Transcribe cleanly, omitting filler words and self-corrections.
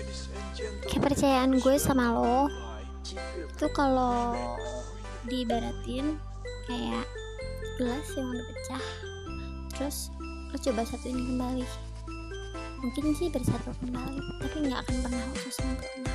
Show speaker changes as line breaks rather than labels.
kepercayaan gue sama lo itu kalau diibaratin kayak gelas yang udah pecah, terus lo coba satuin kembali, mungkin sih bersatu kembali tapi nggak akan pernah utuh sempurna.